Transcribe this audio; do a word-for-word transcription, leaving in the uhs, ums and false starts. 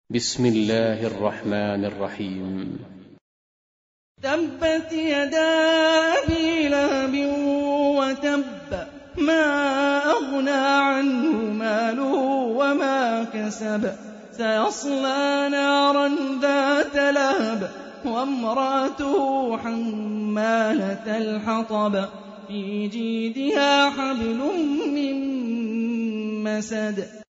بسم الله الرحمن الرحيم. تبت يدا أبي لهب وتب ما أغنى عنه ماله وما كسب سيصلى نارا ذات لهب وامرأته حمالة الحطب في جيدها حبل من مسد